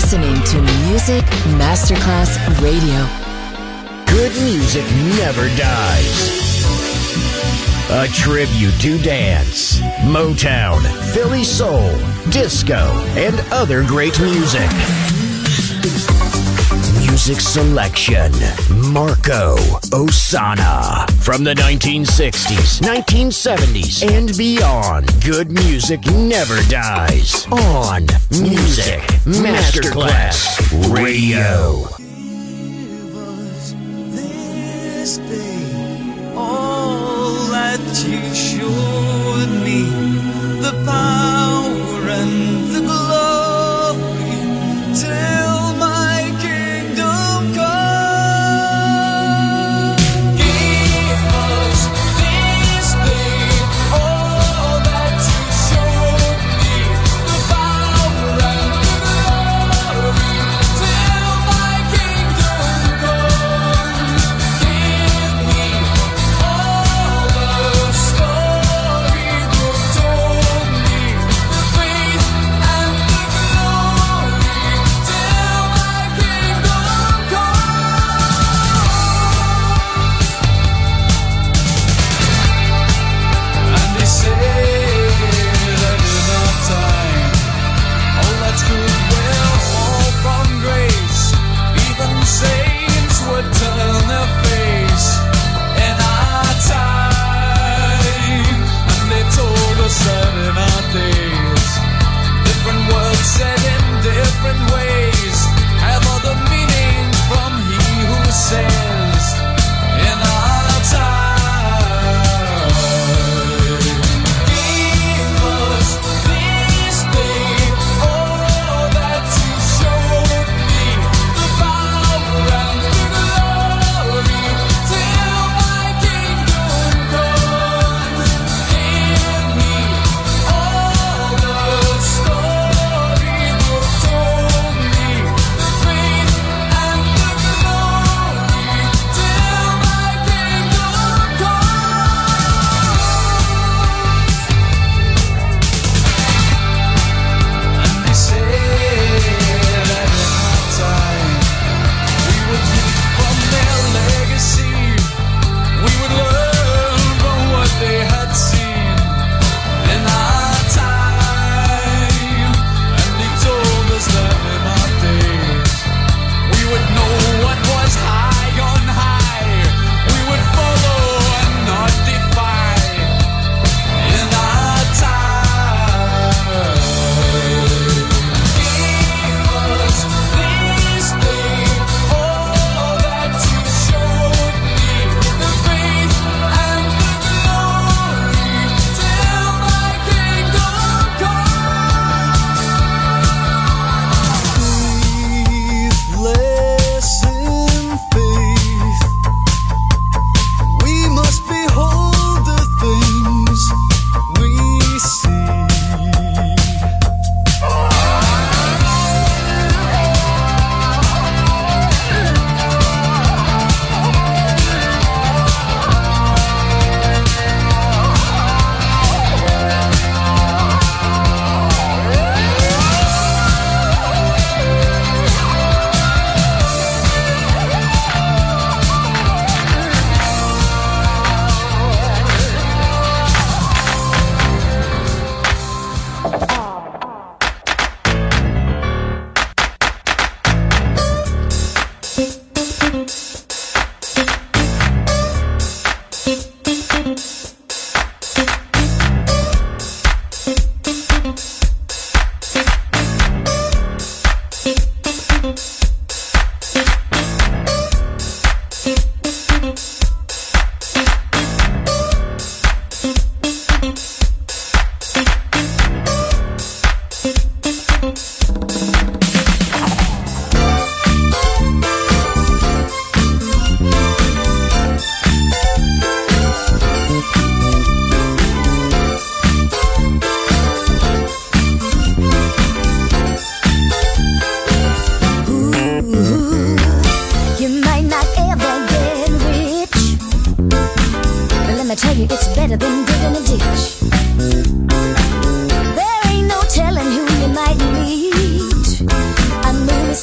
listening to Music Masterclass Radio. Good music never dies. A tribute to dance, Motown, Philly soul, disco, and other great music. Music selection, Marco Ossanna. From the 1960s, 1970s, and beyond, good music never dies. On Music Masterclass Radio. That you showed me the power and the glory till my kingdom come. Give us this day all that you showed me, the power and the glory till my kingdom come. Give me all the story you told me, the faith and the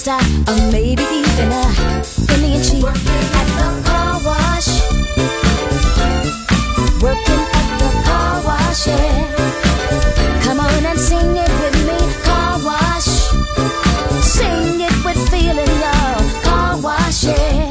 star, or maybe even a Indian chief. Working at the car wash, working at the car wash, yeah. Come on and sing it with me, car wash. Sing it with feeling, y'all, car wash, yeah.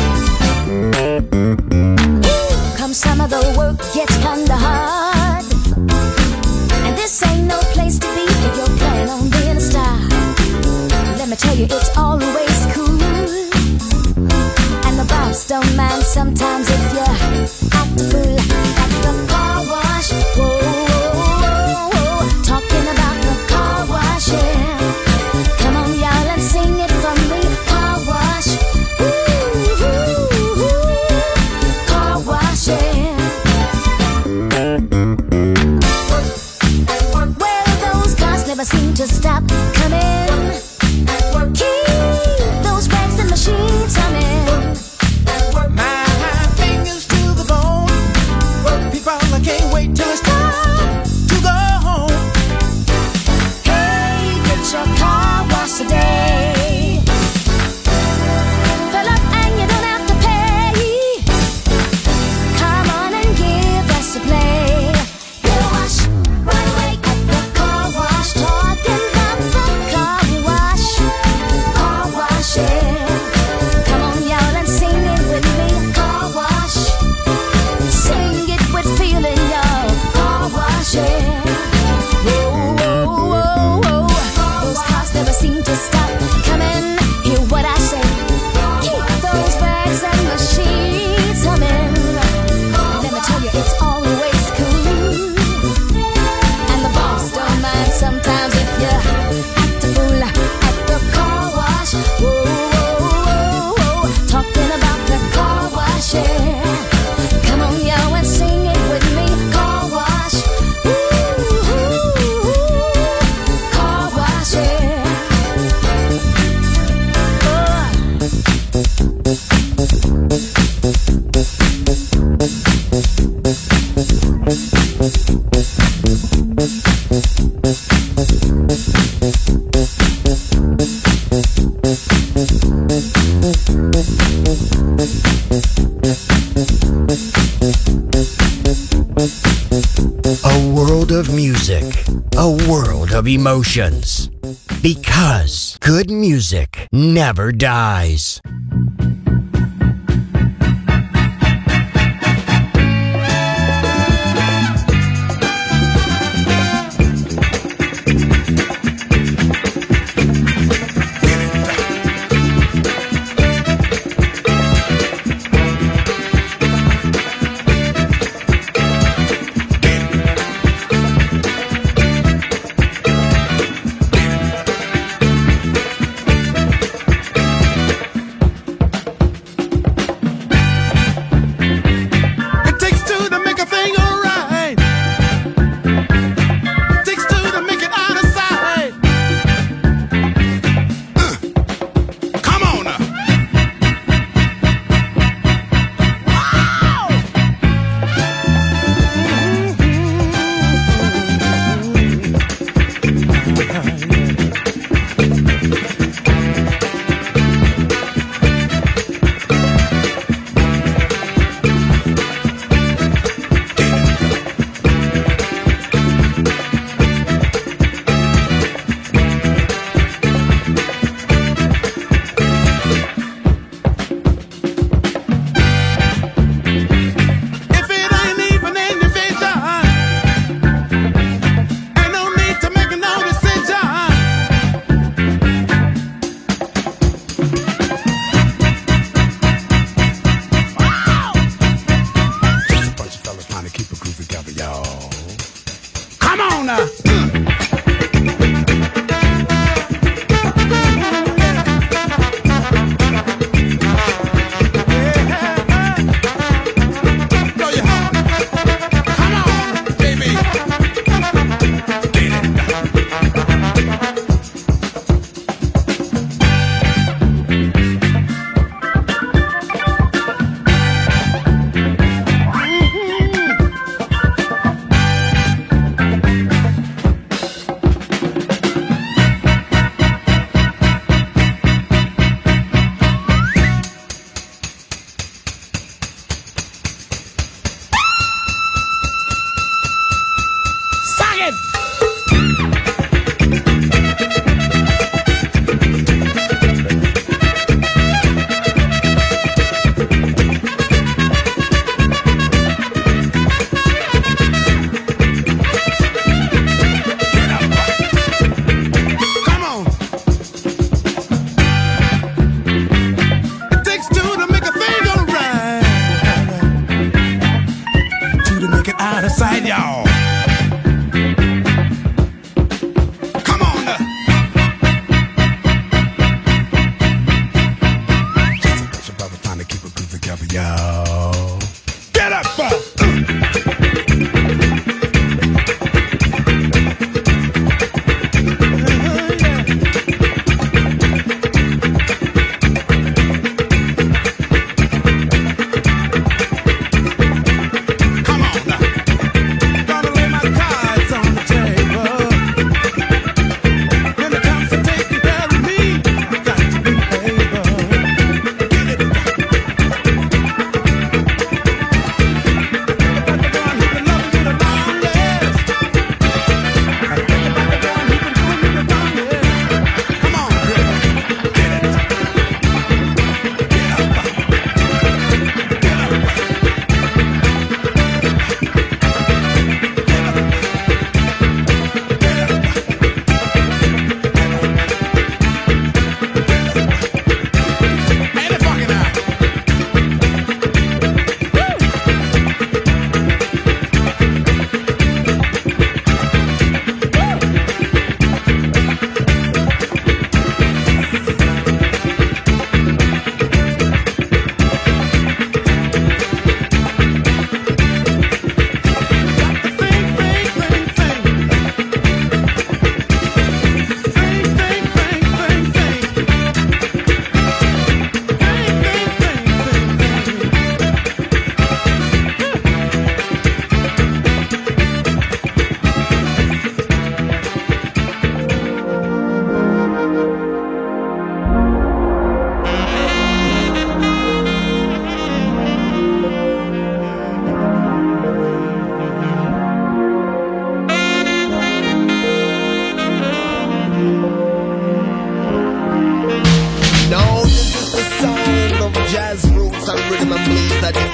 Come some of the work gets kinda hard, and this ain't no place to be if you're planning on being a star. Let me tell you, it's always cool, and the boss don't mind sometimes if you act a fool at the car wash. Whoa, whoa, whoa, talking about the car wash, yeah. Come on, y'all, and sing it from me, car wash. Ooh, ooh, ooh, car wash, yeah. Well, those cars never seem to stop coming. Keep those rags and machines humming. My fingers to the bone. People, I can't wait till it's time to go home. Hey, get your car washed today. Fill up and you don't have to pay. Come on and give us a play. You wash right away at the car wash. Talking about the car wash. Car wash, yeah. Come on, y'all, and sing it with me. Car wash. Sing it with feeling, y'all. Car wash, yeah. Whoa, whoa, whoa, whoa. Those cars never seem to stop coming. Hear what I say. Keep those bags and machines humming. Let me tell you, it's always cool, and the boss don't mind sometimes if you act a fool at the car wash. Whoa, whoa, whoa, talking about the car wash, yeah. Come on, yo, and sing it with me, car wash. Ooh, ooh, car wash, yeah. A world of music, a world of emotions. Because good music never dies.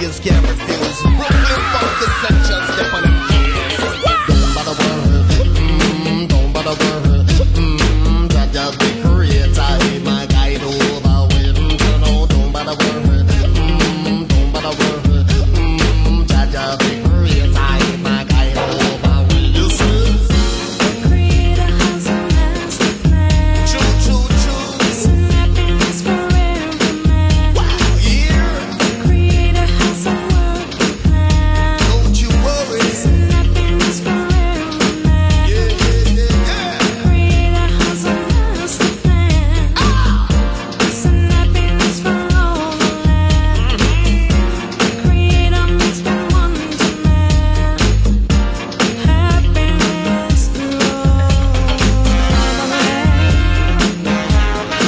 niggas can't refuse. Brooklyn funk essential, step on them keys. Don't bother worry, don't bother worry. Jaja the creator, he my guide over when you know. Don't bother worry, don't bother worry. Jaja the creator, he my guide over when you see. The creator has a master plan. Choo choo choo. Peace and happiness for every man. Wow, yeah. The creator has a working plan. Don't you worry. Peace and happiness for every man. Yeah, yeah, yeah, yeah. The creator has a master plan. Peace and happiness for all the land. The creator makes me wonder, man. Happiness through all the land.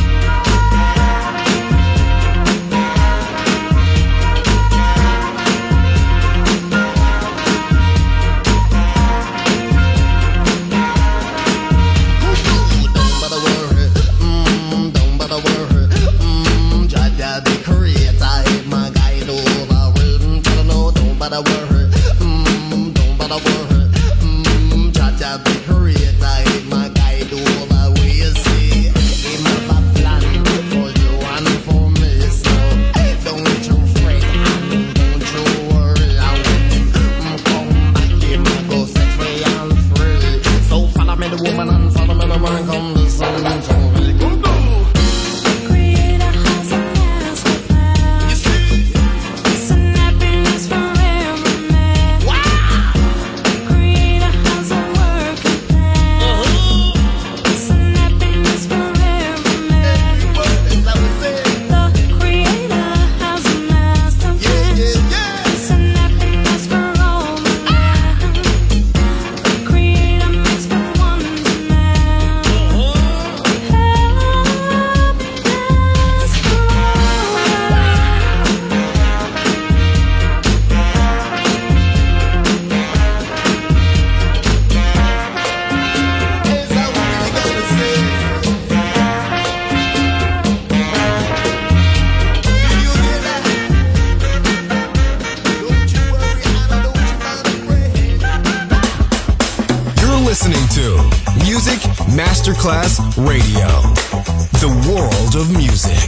Don't bother worry, don't bother worry. Jaja the creator, he my guide over when you know. Don't bother worry, don't bother worry. Jaja the creator, he my guide over where you see. He have a plan for you and for me, so don't you fret and don't you worry. I will come back, him I go set free and free. So follow me the woman and follow me the man, come the sun, so we go do. The creator has a master plan. You see? Peace and happiness for every man. The creator has a working plan. Peace and happiness for every man. Is that what we say? The creator has a master Yeah, plan. yeah, yeah. Peace and happiness for all the land. The creator makes me wonder, man. Happiness for all the land. Is that what we gonna say? Do you hear that? Don't you worry, Anna, don't you bother fret. You're listening to Music Masterclass Radio, the world of music.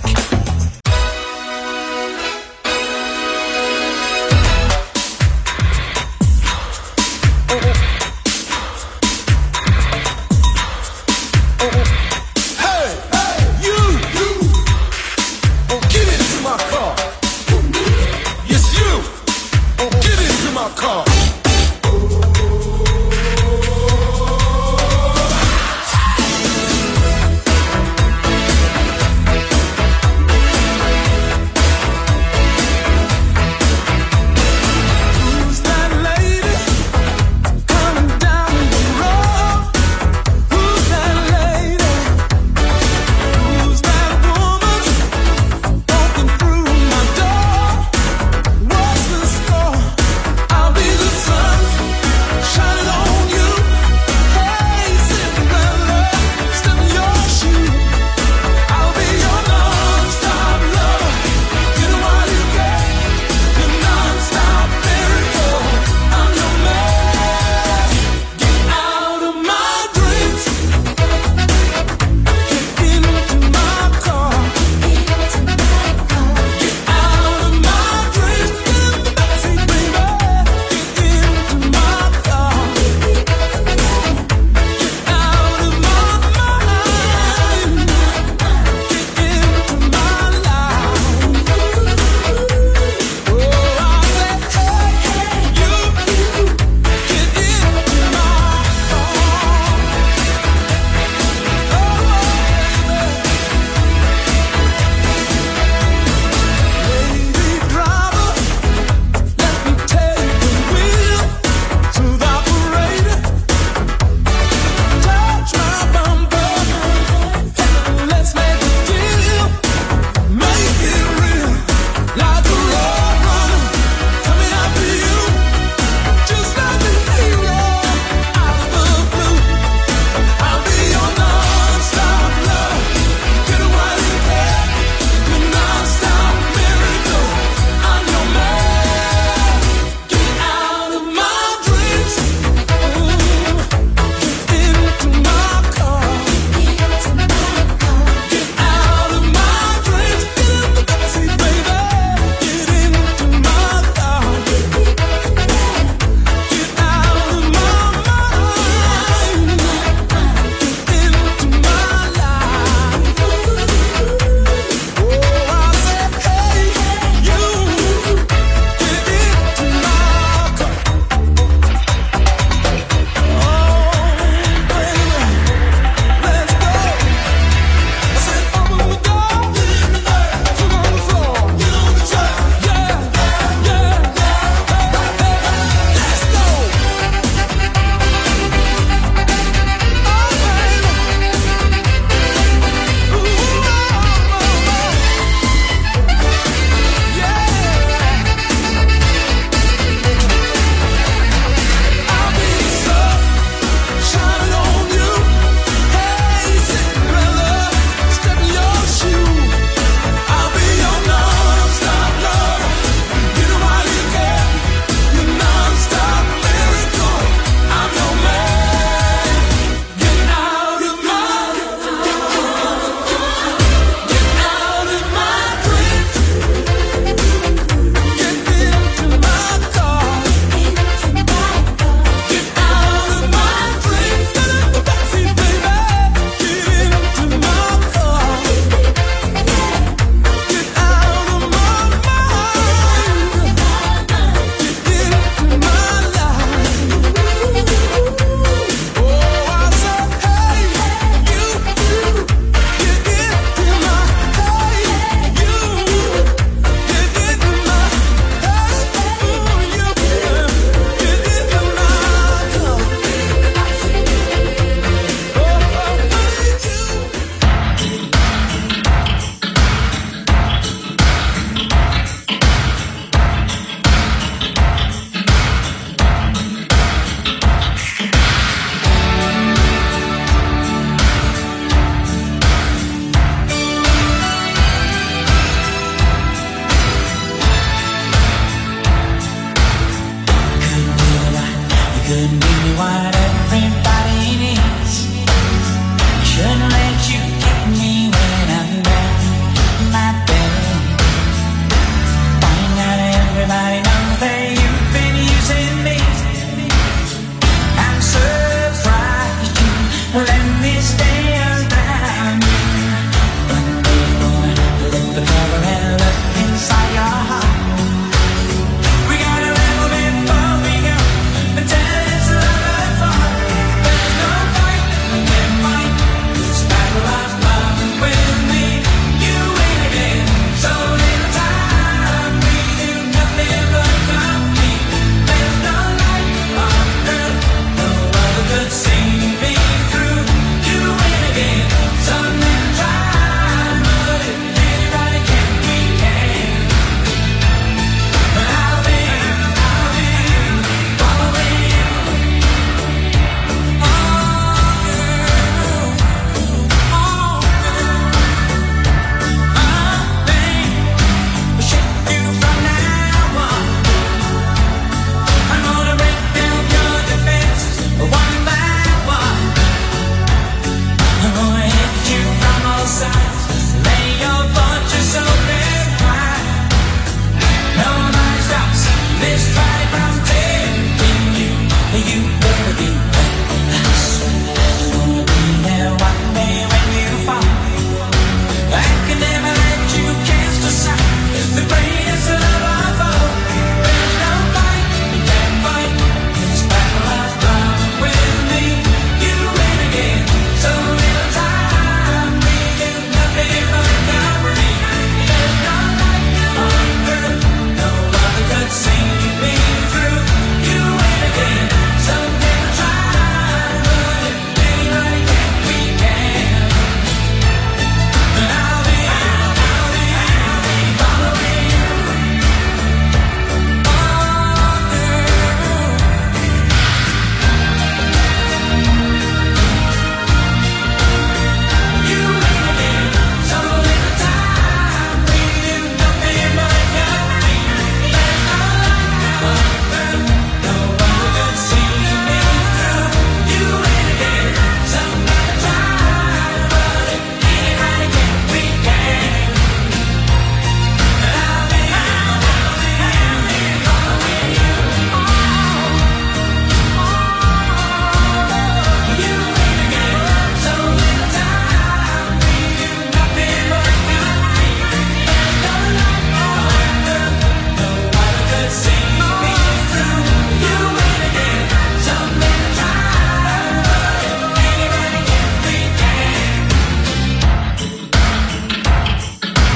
Hey, you, get into my car. Yes, you, get into my car.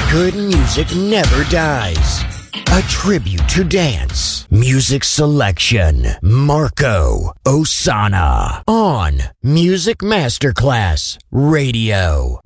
Good music never dies. A tribute to dance. Music selection. Marco Ossanna. On Music Masterclass Radio.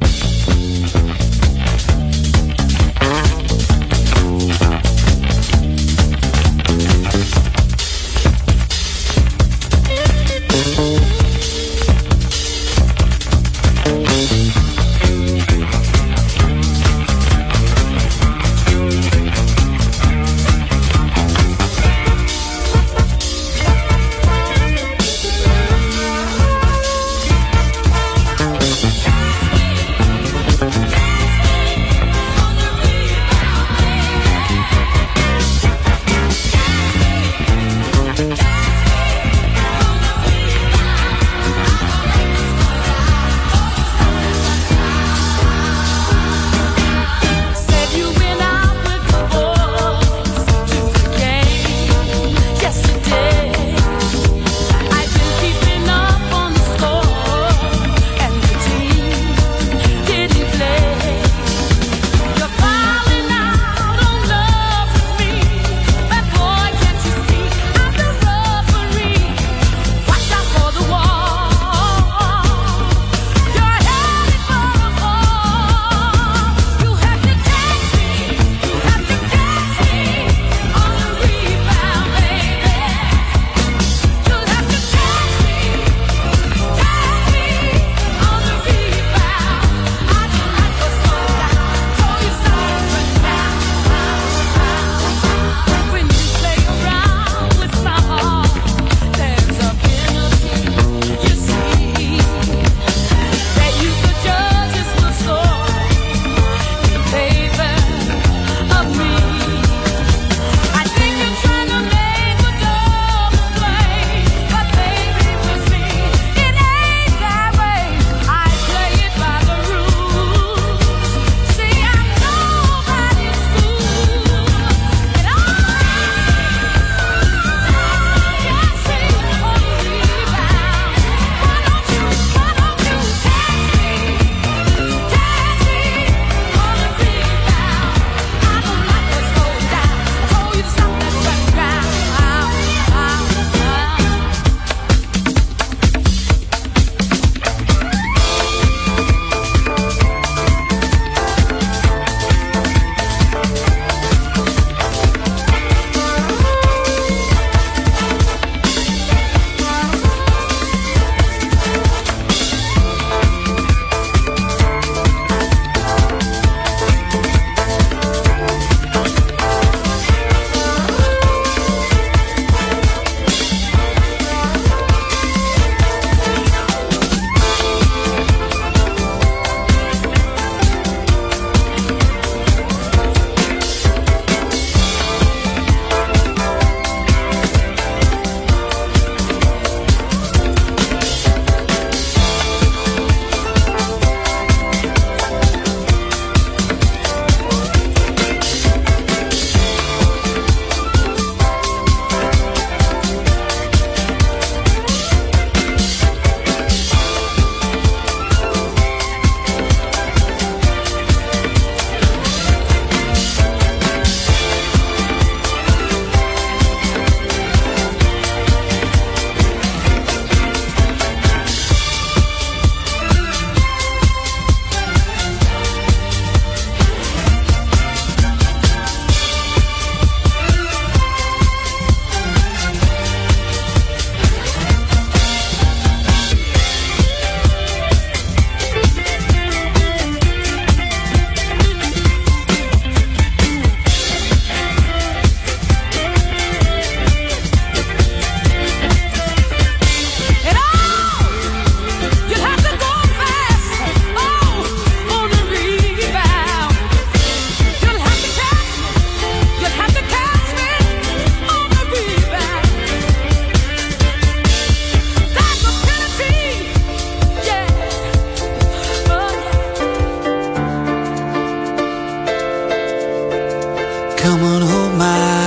Come on, hold my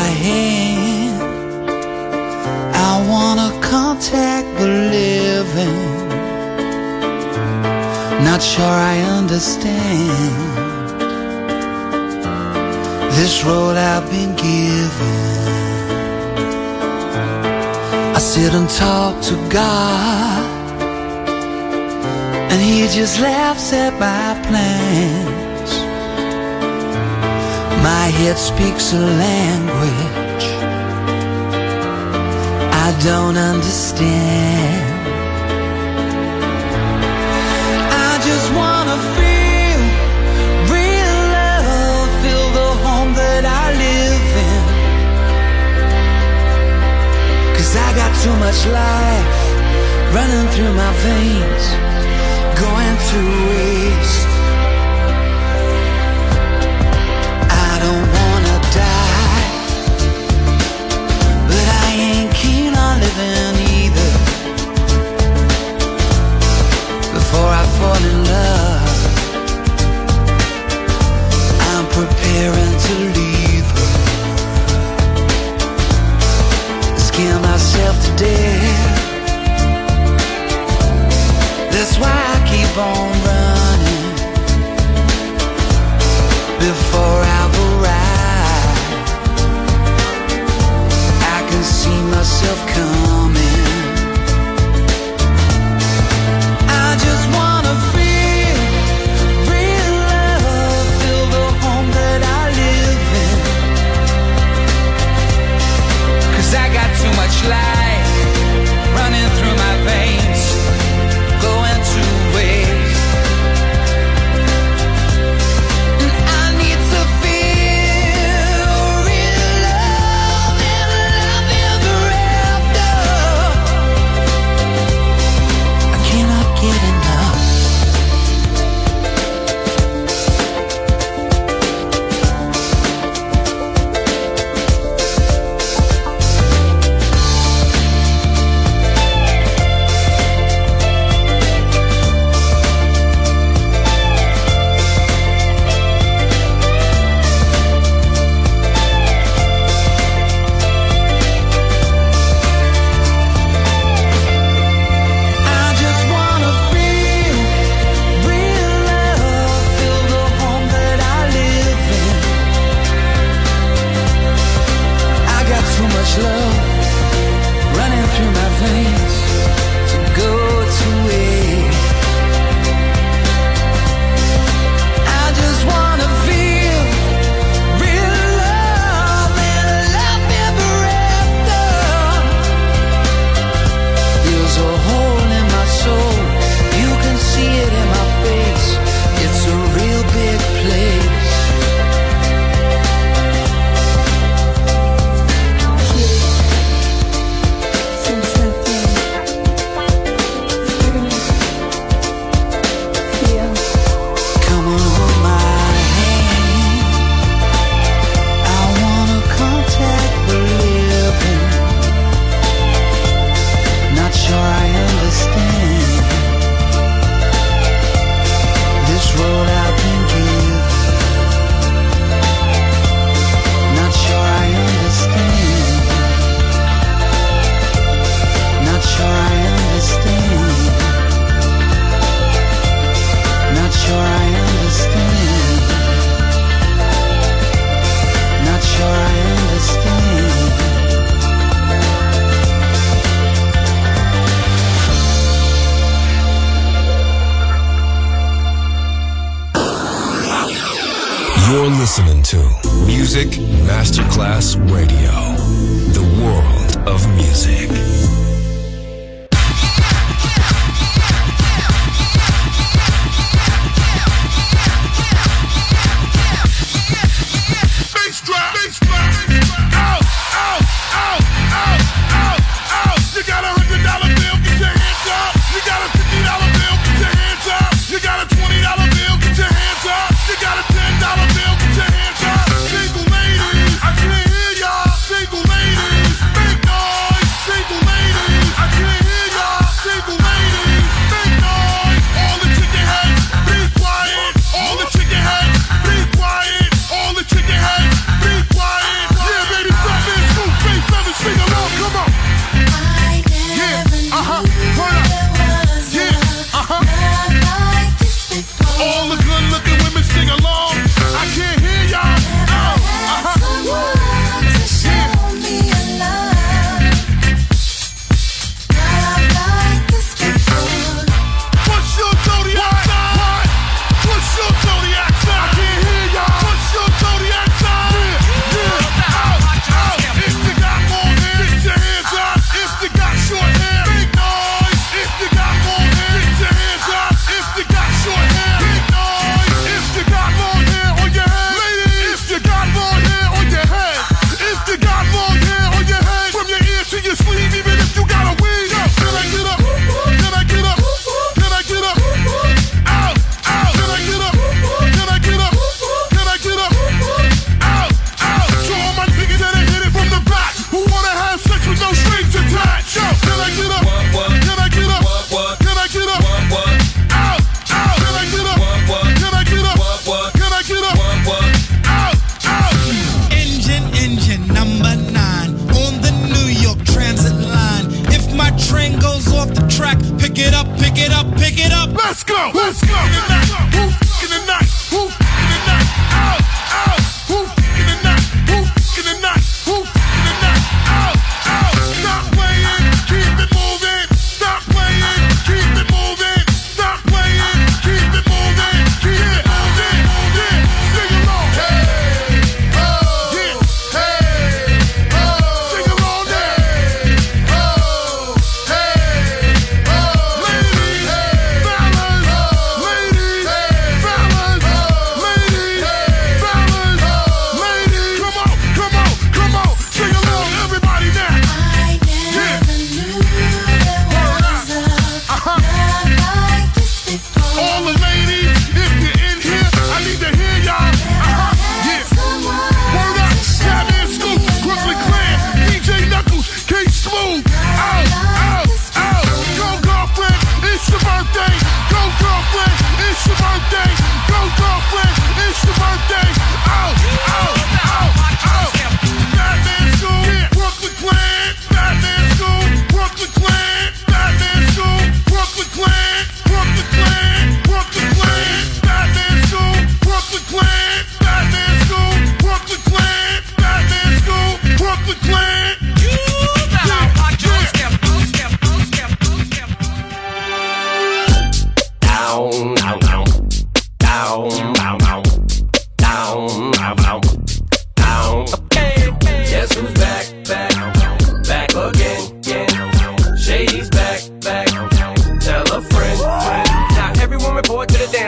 hand. I wanna contact the living. Not sure I understand this road I've been given. I sit and talk to God, and He just laughs at my plans. My head speaks a language I don't understand. I just wanna feel real love, feel the home that I live in. 'Cause I got too much life running through my veins, going to waste. I don't wanna die, but I ain't keen on living either. Before I fall in love, I'm preparing to leave her. Scare myself to death. That's why I keep on running before I've arrived. I can see myself coming. I just wanna feel real love, feel the home that I live in. 'Cause I got too much life running through my veins, going to waste. And I need to feel real love and love ever after. I cannot get enough. I just wanna feel real love, feel the home that I live in. I got too much love running through my veins to go to waste. I just wanna feel real love and love ever after. There's a hole in my soul, you can see it in my face. It's a real big place. Come on, hold my hand. I wanna contact the living. Not sure I understand this road I've been given. Not sure I understand. Not sure I understand. Not sure I understand. Not sure I understand. You're listening to Music Masterclass Radio, the world of music. Bass drop, bass drop. Out, out, out, out, out, out. You got $100 bill, get your hands up. You got a $50 bill, get your hands up. You got a $20 bill, get your hands up. You got a $10 bill, get your hands up. Single ladies, I can't hear y'all. Single ladies, make noise. Single ladies.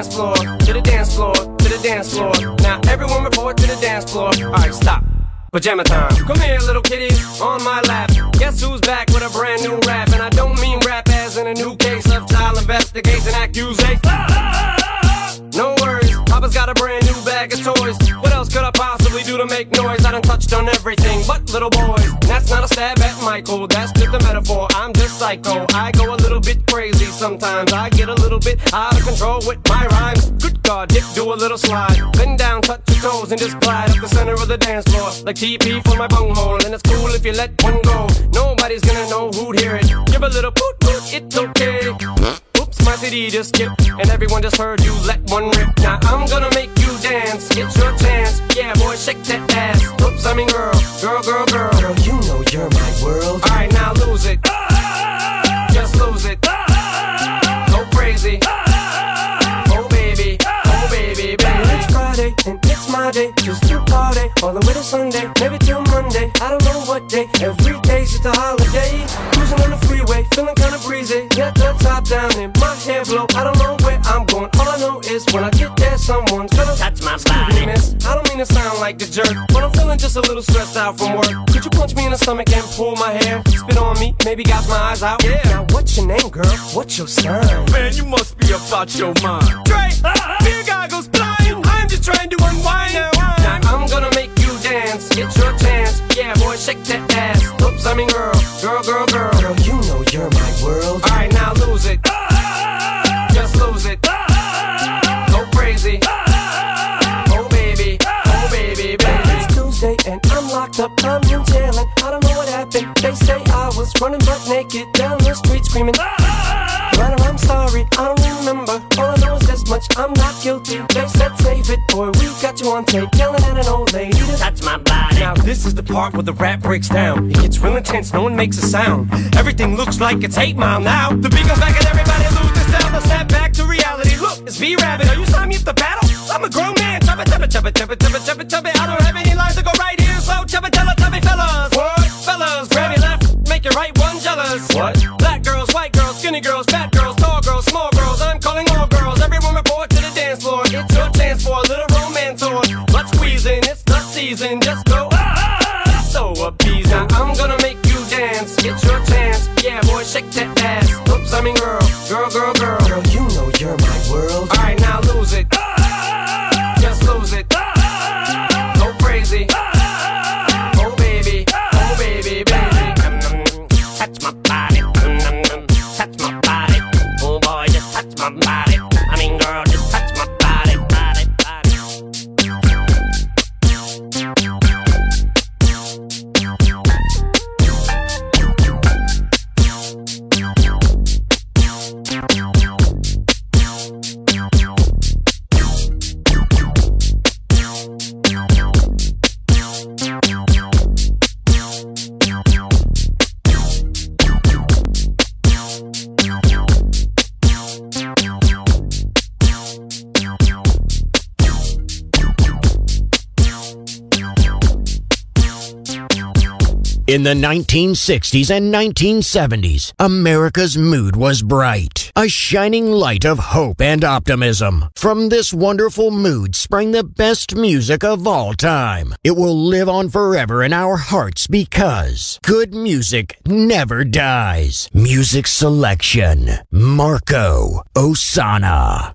dance floor, to the dance floor, to the dance floor. Now everyone report to the dance floor. Alright, stop. Pajama time. Come here, little kitties, on my lap. Guess who's back with a brand new rap? And I don't mean rap as in a new case of child investigation accusation. No worries, Papa's got a brand new bag of toys. What else could I possibly do to make noise? I done touched on everything but little boys. That's not a stab at Michael, that's just a metaphor. I'm just psycho, I go a little bit crazy sometimes. I get a little bit out of control with my rhymes. Good God, Dick, do a little slide. Bend down, touch your toes, and just glide up the center of the dance floor. Like TP for my bunghole, and it's cool if you let one go. Nobody's gonna know who'd hear it. Give a little poot poot, it's okay. Oops, my CD just skipped, and everyone just heard you let one rip. Now I'm gonna make you dance, it's your chance. Yeah, boy, shake that ass. Oops, I mean girl, girl, girl, girl. Girl, you know you're my world. Alright, now lose it. Just lose it. Go crazy. Oh baby, baby. It's Friday, and it's my day. Just to party, all the way to Sunday. Maybe till Monday, I don't know what day. Every day's just a holiday. Cruising on the freeway, feeling kinda breezy. Got the top down and my hair blow. I don't know where I'm going, all I know is when I get there, someone's gonna touch my body. Miss, I don't mean to sound like the jerk, but I'm feeling just a little stressed out from work. Could you punch me in the stomach and pull my hair? Spit on me, maybe gouge my eyes out. Yeah. Now what's your name, girl? What's your sign? Man, you must be about your mind. Dre, beer goggles blind. I'm just trying to unwind. Now I'm gonna make you dance. It's your chance. Yeah, boy, shake that ass. Oops, I mean girl, girl, girl, girl. Girl, you know you're my world. Alright, now lose it. Just lose it. Go crazy. Oh baby, baby. It's Tuesday and I'm locked up. I'm in jail and I don't know what happened. They say I was running butt naked down the street screaming. But I'm sorry, I don't remember. All I know is this much, I'm not guilty. They said save it, boy, we got you on tape. Yelling at an old lady to touch my body. Now this is the part where the rap breaks down. It gets real intense, no one makes a sound. Everything looks like it's 8 Mile now. The beat goes back and everybody lose their sound. Now snap back to reality. Look, it's V-Rabbit, are you signing me up to battle? I'm a grown man, chubba, chubba, chubba, chubba, chubba, chubba, chubba. I don't have any lines to go right here, so chubba, tell me fellas. What? Fellas, grab your left, make your right one jealous. What? Black girls, white girls, skinny girls, fat girls, tall girls, small girls. I'm calling all girls, everyone report to the dance floor. It's your chance for a little romance or let's squeezing, it's the season. Just go, so appeasing. Now I'm gonna make you dance, it's your chance. Yeah, boy, shake that ass. Oops, I mean girl, girl, girl, girl. Girl, you know you're my world. Alright, now lose it. Just lose it. Go crazy. Oh baby, baby. Touch my body. Touch my body. Oh boy, just touch my body. I mean girl, just touch my body, body, body. In the 1960s and 1970s, America's mood was bright, a shining light of hope and optimism. From this wonderful mood sprang the best music of all time. It will live on forever in our hearts because good music never dies. Music selection, Marco Ossanna.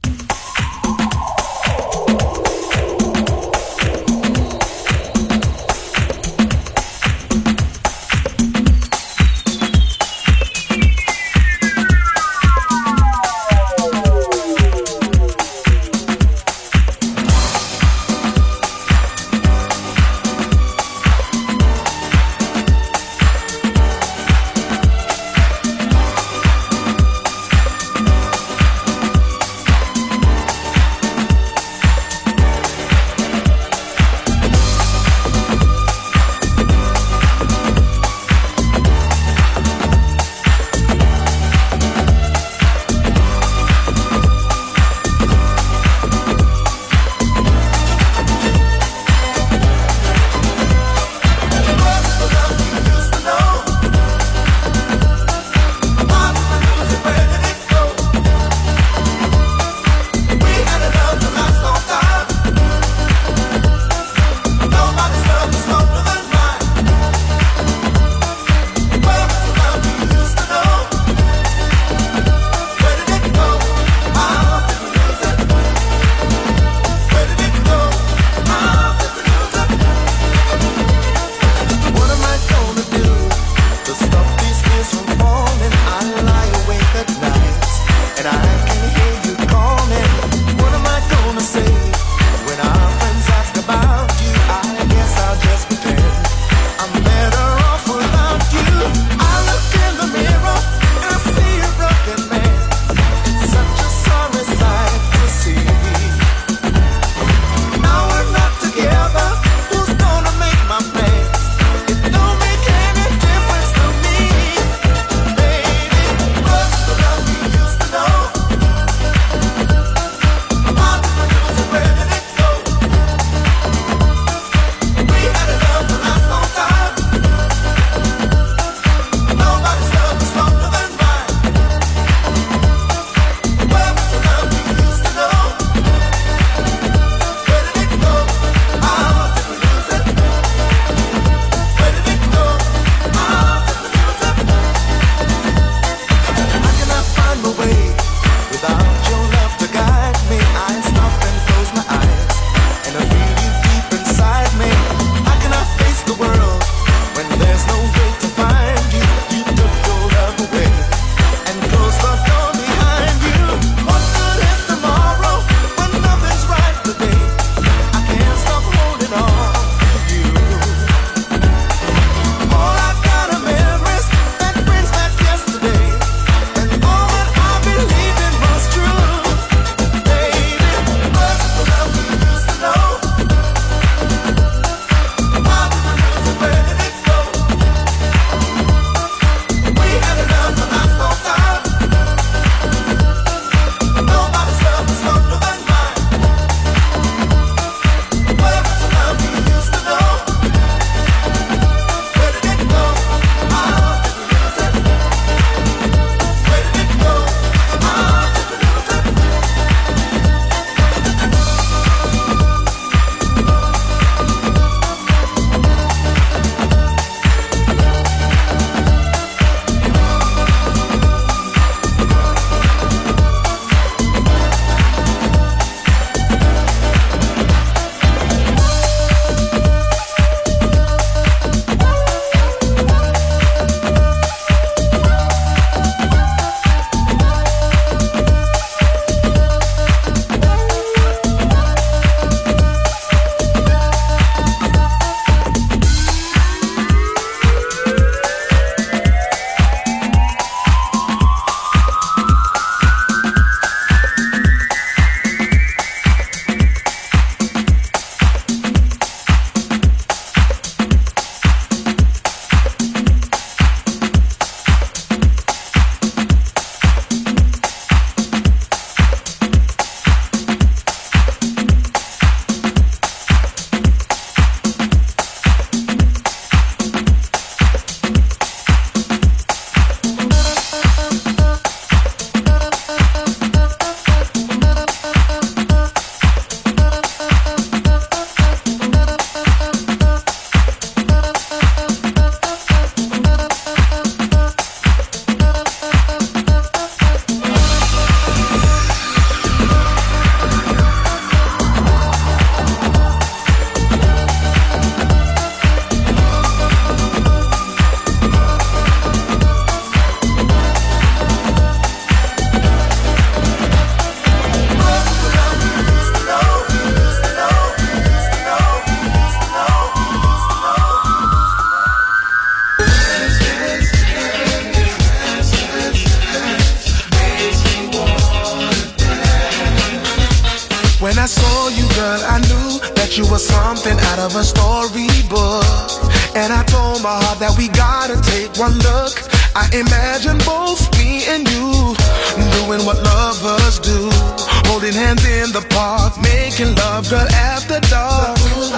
saw you, girl, I knew that you were something out of a storybook. And I told my heart that we gotta take one look. I imagine both me and you doing what lovers do, holding hands in the park, making love, girl, after dark.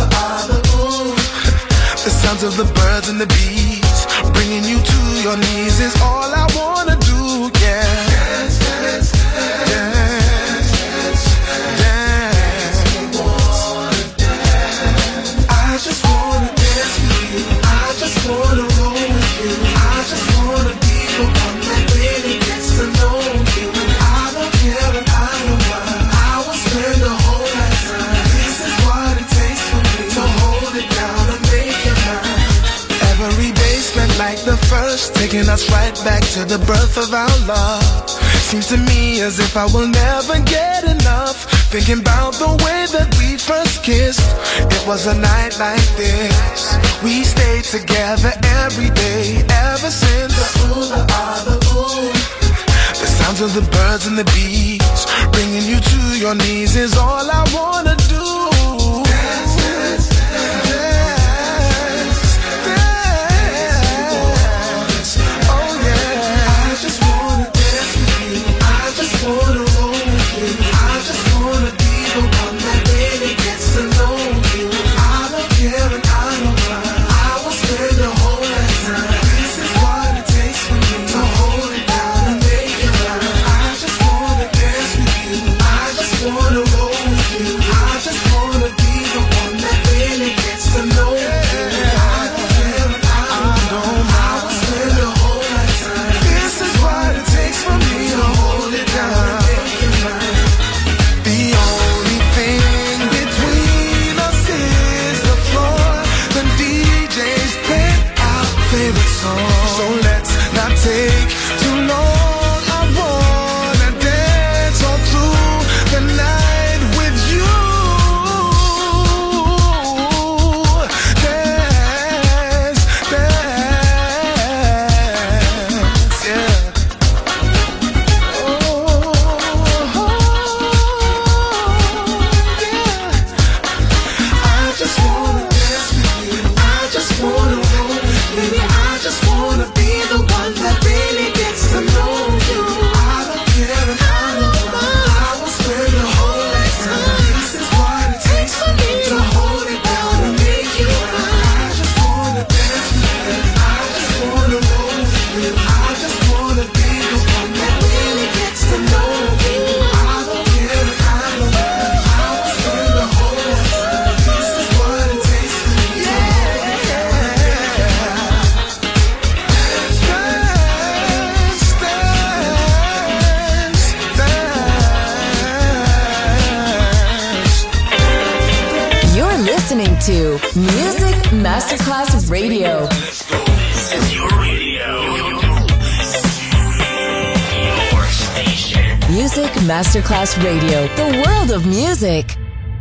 The sounds of the birds and the bees, bringing you to your knees is all I wanna do, yeah. Dance, dance, dance, dance, dance, dance. I just wanna dance with you. I just wanna roll with you. I just wanna be the one that really gets to know you. I don't care and I don't mind. I will spend the whole lifetime. This is what it takes for me to hold it down and make it mine. Every day spent like the first, taking us right back to the birth of our love. Seems to me as if I will never get enough, thinking about the way that we first kissed. It was a night like this. We stayed together every day ever since. The ooh, the ah, the ooh. The sounds of the birds and the bees, bringing you to your knees is all I wanna do. Dance, dance, dance, dance, dance. Oh yeah. I just wanna dance with you. I just wanna roll with you. I just wanna be the one that really gets to know you. I don't care and I don't mind. I will spend the whole lifetime. This is what it takes for me to hold it down and make it right. I just wanna dance with you. I just wanna roll with you. I just wanna be the one that really gets to know you. I don't care and I don't mind. I will spend the whole lifetime. This is what it takes for me to hold it down and make it right. The only thing between us is the floor. The DJs play our favorite song. So let's not take too long. I wanna dance all through the night with you. Dance, dance, yeah. I just wanna dance with you. I just wanna roll with you. I just wanna be the one that really gets to know you. I don't care and I don't mind. I will spend the whole lifetime. This is what it takes for me to hold it down and make it right. I just wanna dance with you. I just wanna roll with you. I just wanna be the one that really gets to know you. I don't care and I don't mind. I will spend the whole lifetime. This is what it takes for me to hold it down and make it right. Dance, dance, dance. You're listening to Music Masterclass Radio. Your radio. Your station. Music Masterclass Radio. The world of music.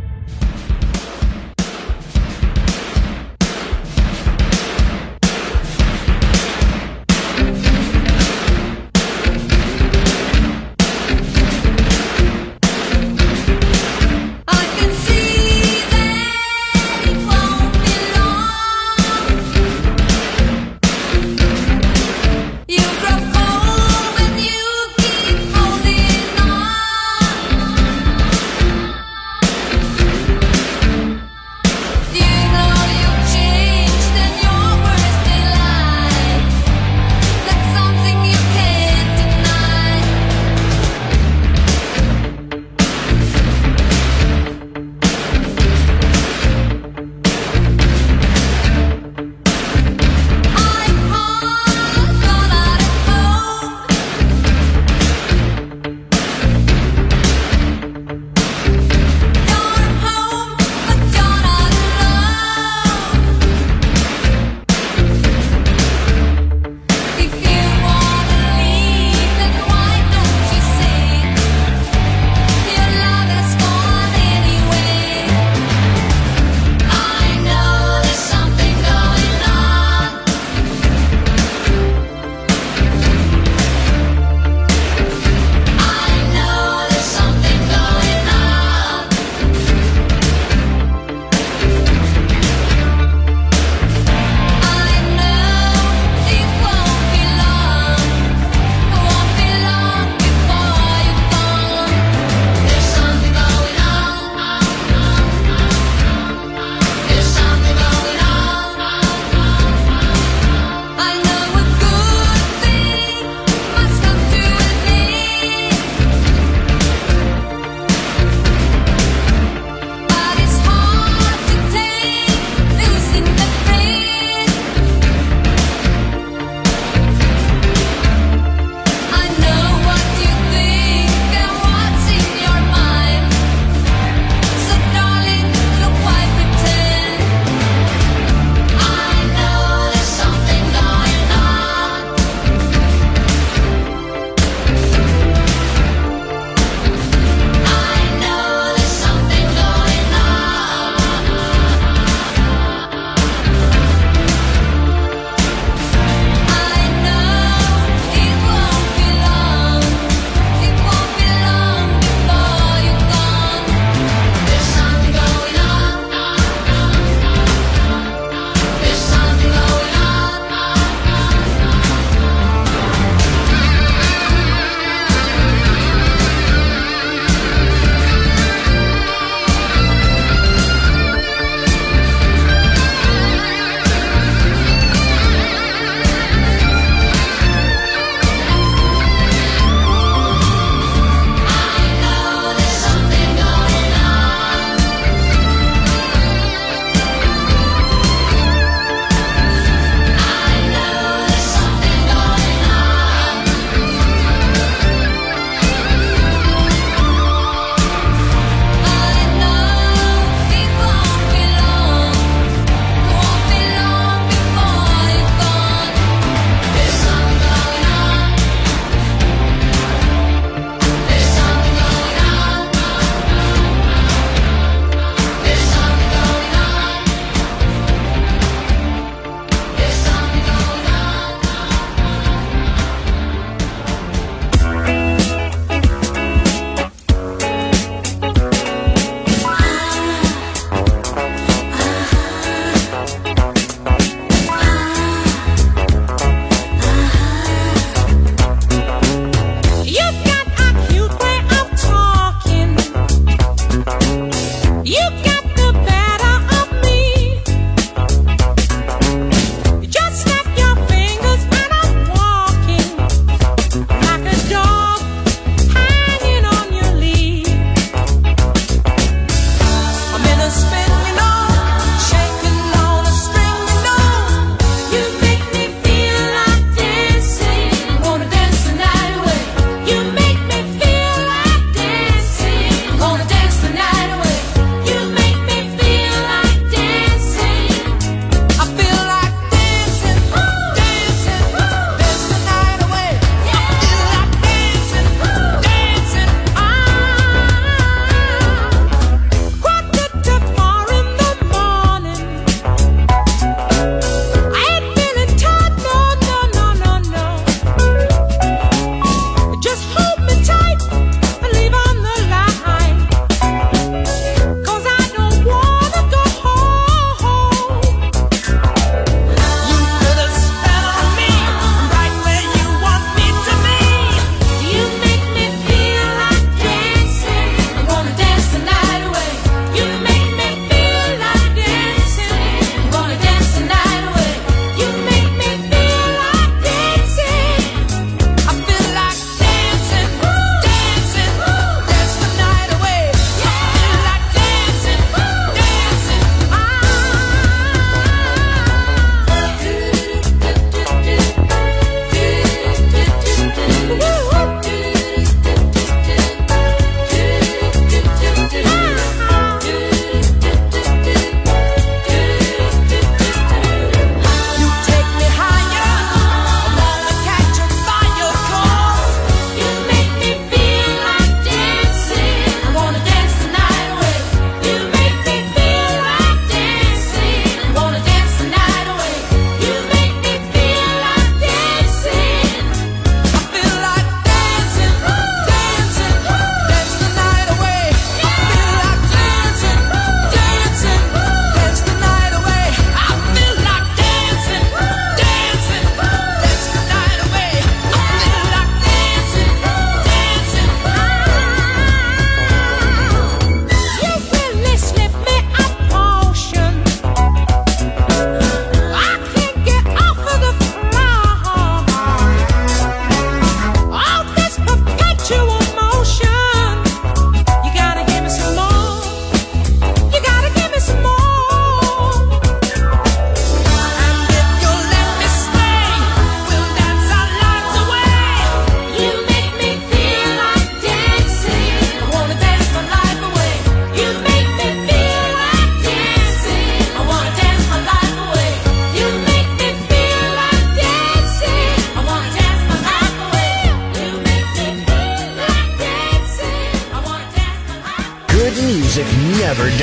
I can see that it won't be long. You grow cold when you keep holding on.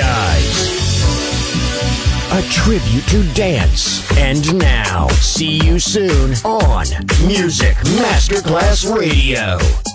Paradise. A tribute to dance. And now, see you soon on Music Masterclass Radio.